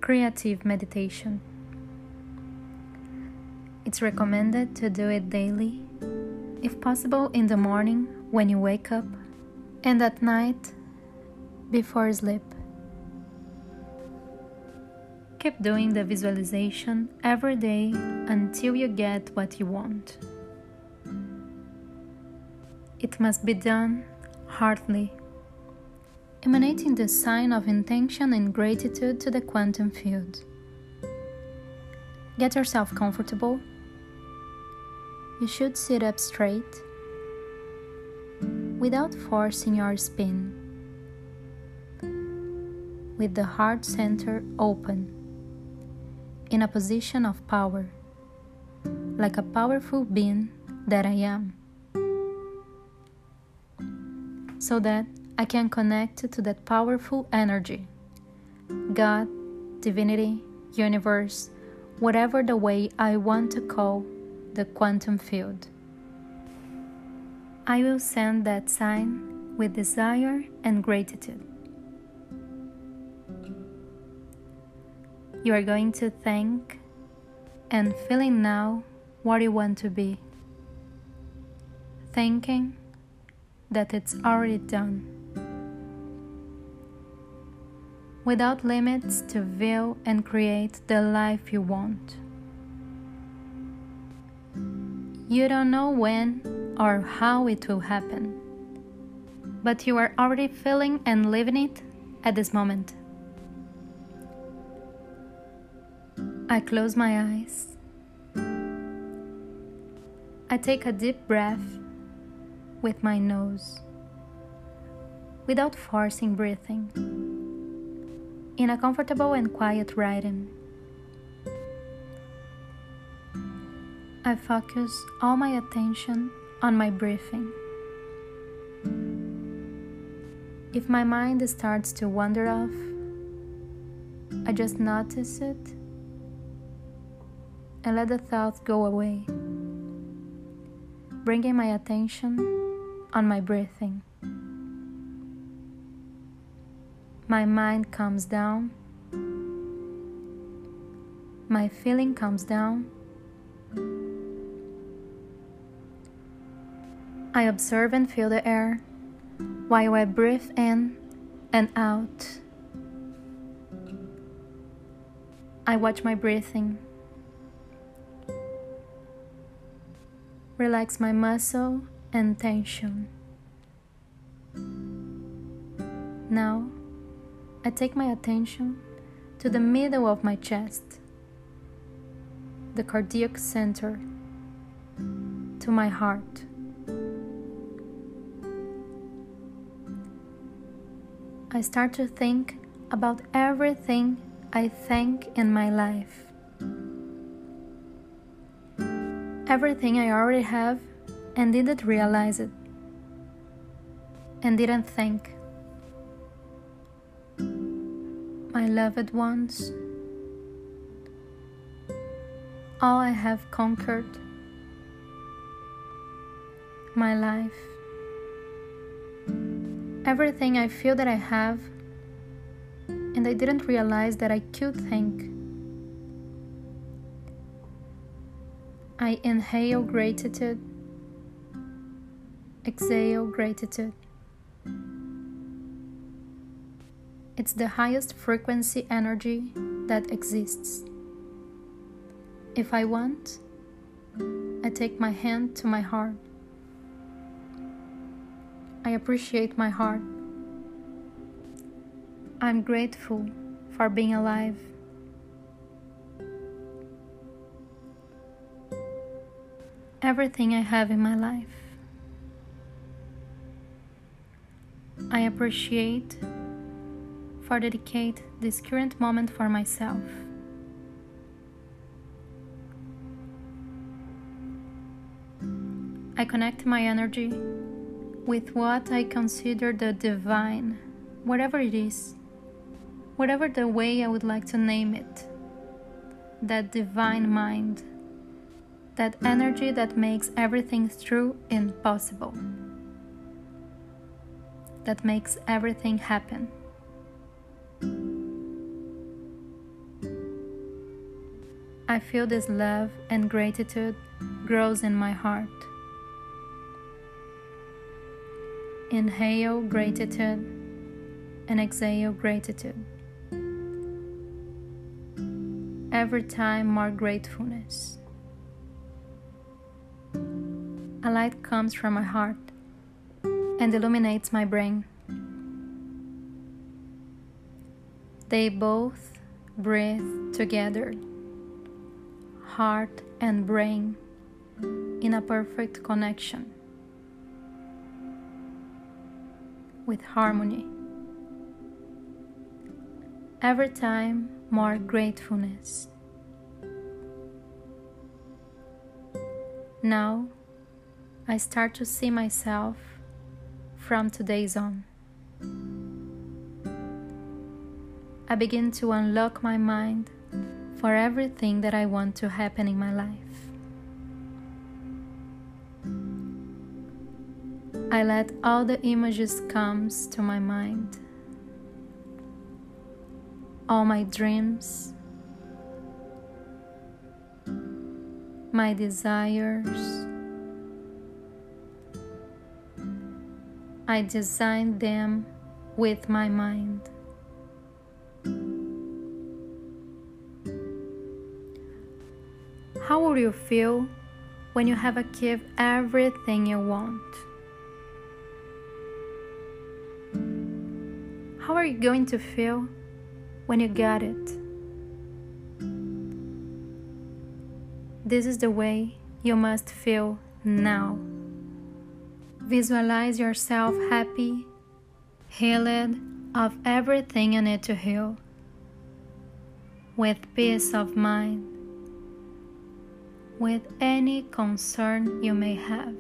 creative meditation. It's recommended to do it daily, if possible in the morning when you wake up, and at night before sleep. Keep doing the visualization every day until you get what you want. It must be done heartily, emanating the sign of intention and gratitude to the quantum field. Get yourself comfortable. You should sit up straight, without forcing your spine, with the heart center open, in a position of power, like a powerful being that I am, so that I can connect to that powerful energy, God, divinity, universe, whatever the way I want to call the quantum field. I will send that sign with desire and gratitude. You are going to think and feeling now what you want to be, thinking that it's already done, without limits to view and create the life you want. You don't know when or how it will happen, but you are already feeling and living it at this moment. I close my eyes. I take a deep breath with my nose, without forcing breathing, in a comfortable and quiet rhythm. I focus all my attention on my breathing. If my mind starts to wander off, I just notice it and let the thoughts go away, bringing my attention on my breathing. My mind calms down, my feeling calms down. I observe and feel the air while I breathe in and out. I watch my breathing, relax my muscle and tension. Now, I take my attention to the middle of my chest, the cardiac center, to my heart. I start to think about everything I think in my life. Everything I already have and didn't realize it, and didn't think. My loved ones, all I have conquered, my life, everything I feel that I have, and I didn't realize that I could think. I inhale gratitude, exhale gratitude. It's the highest frequency energy that exists. If I want, I take my hand to my heart. I appreciate my heart. I'm grateful for being alive. Everything I have in my life, I appreciate for dedicate this current moment for myself. I connect my energy with what I consider the divine, whatever it is, whatever the way I would like to name it, that divine mind, that energy that makes everything true and possible, that makes everything happen. I feel this love and gratitude grows in my heart. Inhale gratitude and exhale gratitude. Every time more gratefulness. A light comes from my heart and illuminates my brain. They both breathe together, heart and brain, in a perfect connection, with harmony. Every time more gratefulness. Now I start to see myself from today's on. I begin to unlock my mind for everything that I want to happen in my life. I let all the images come to my mind, all my dreams, my desires. I design them with my mind. How will you feel when you have achieved everything you want? How are you going to feel when you got it? This is the way you must feel now. Visualize yourself happy, healed of everything you need to heal, with peace of mind, with any concern you may have.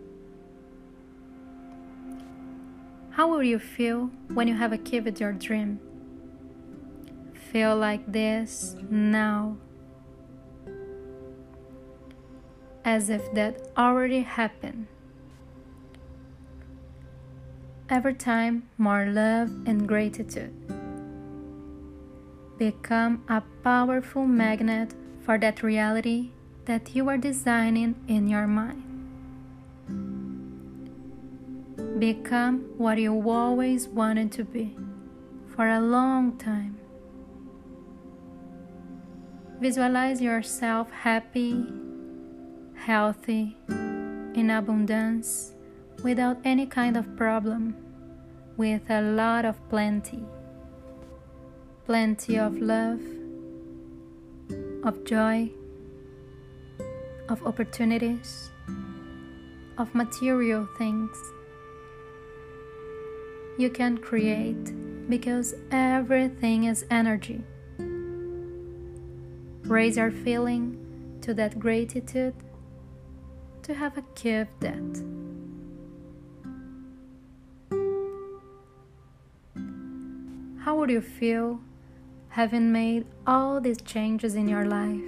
How will you feel when you have achieved your dream? Feel like this now, as if that already happened. Every time more love and gratitude. Become a powerful magnet for that reality that you are designing in your mind. Become what you always wanted to be for a long time. Visualize yourself happy, healthy, in abundance, without any kind of problem, with a lot of plenty. Plenty of love, of joy, of opportunities, of material things. You can create because everything is energy. Raise your feeling to that gratitude to have achieved that. How would you feel having made all these changes in your life?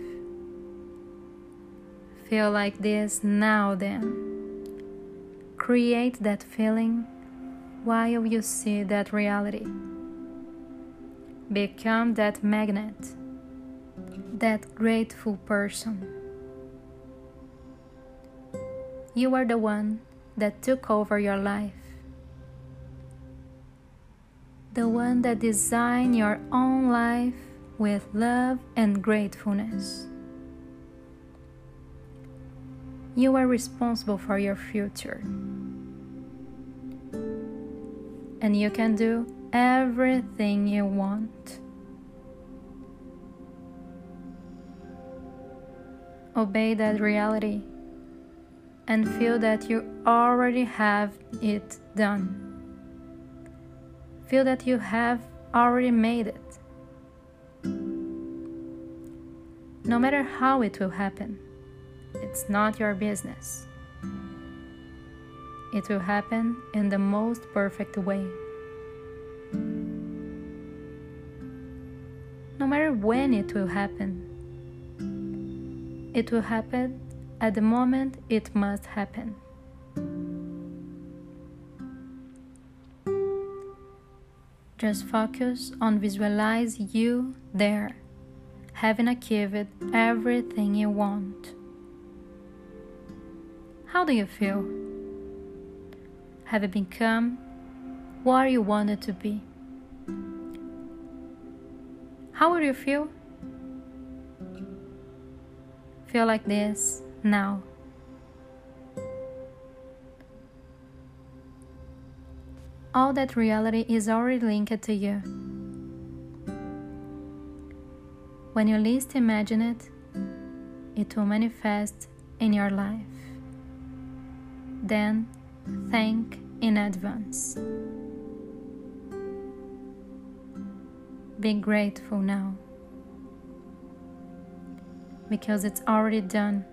Feel like this now then. Create that feeling while you see that reality. Become that magnet, that grateful person. You are the one that took over your life. The one that designed your own life with love and gratefulness. You are responsible for your future. And you can do everything you want. Obey that reality and feel that you already have it done. Feel that you have already made it. No matter how it will happen, it's not your business. It will happen in the most perfect way. No matter when it will happen at the moment it must happen. Just focus on visualize you there, having achieved everything you want. How do you feel? Have you become what you wanted to be? How would you feel? Feel like this now. All that reality is already linked to you. When you least imagine it, it will manifest in your life. Then, thank in advance. Be grateful now, because it's already done.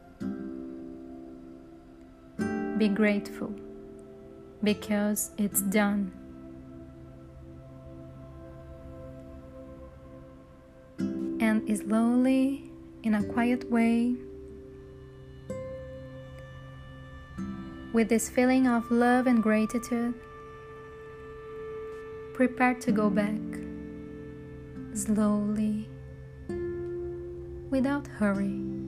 Be grateful, because it's done. And slowly, in a quiet way, with this feeling of love and gratitude, prepare to go back, slowly, without hurry.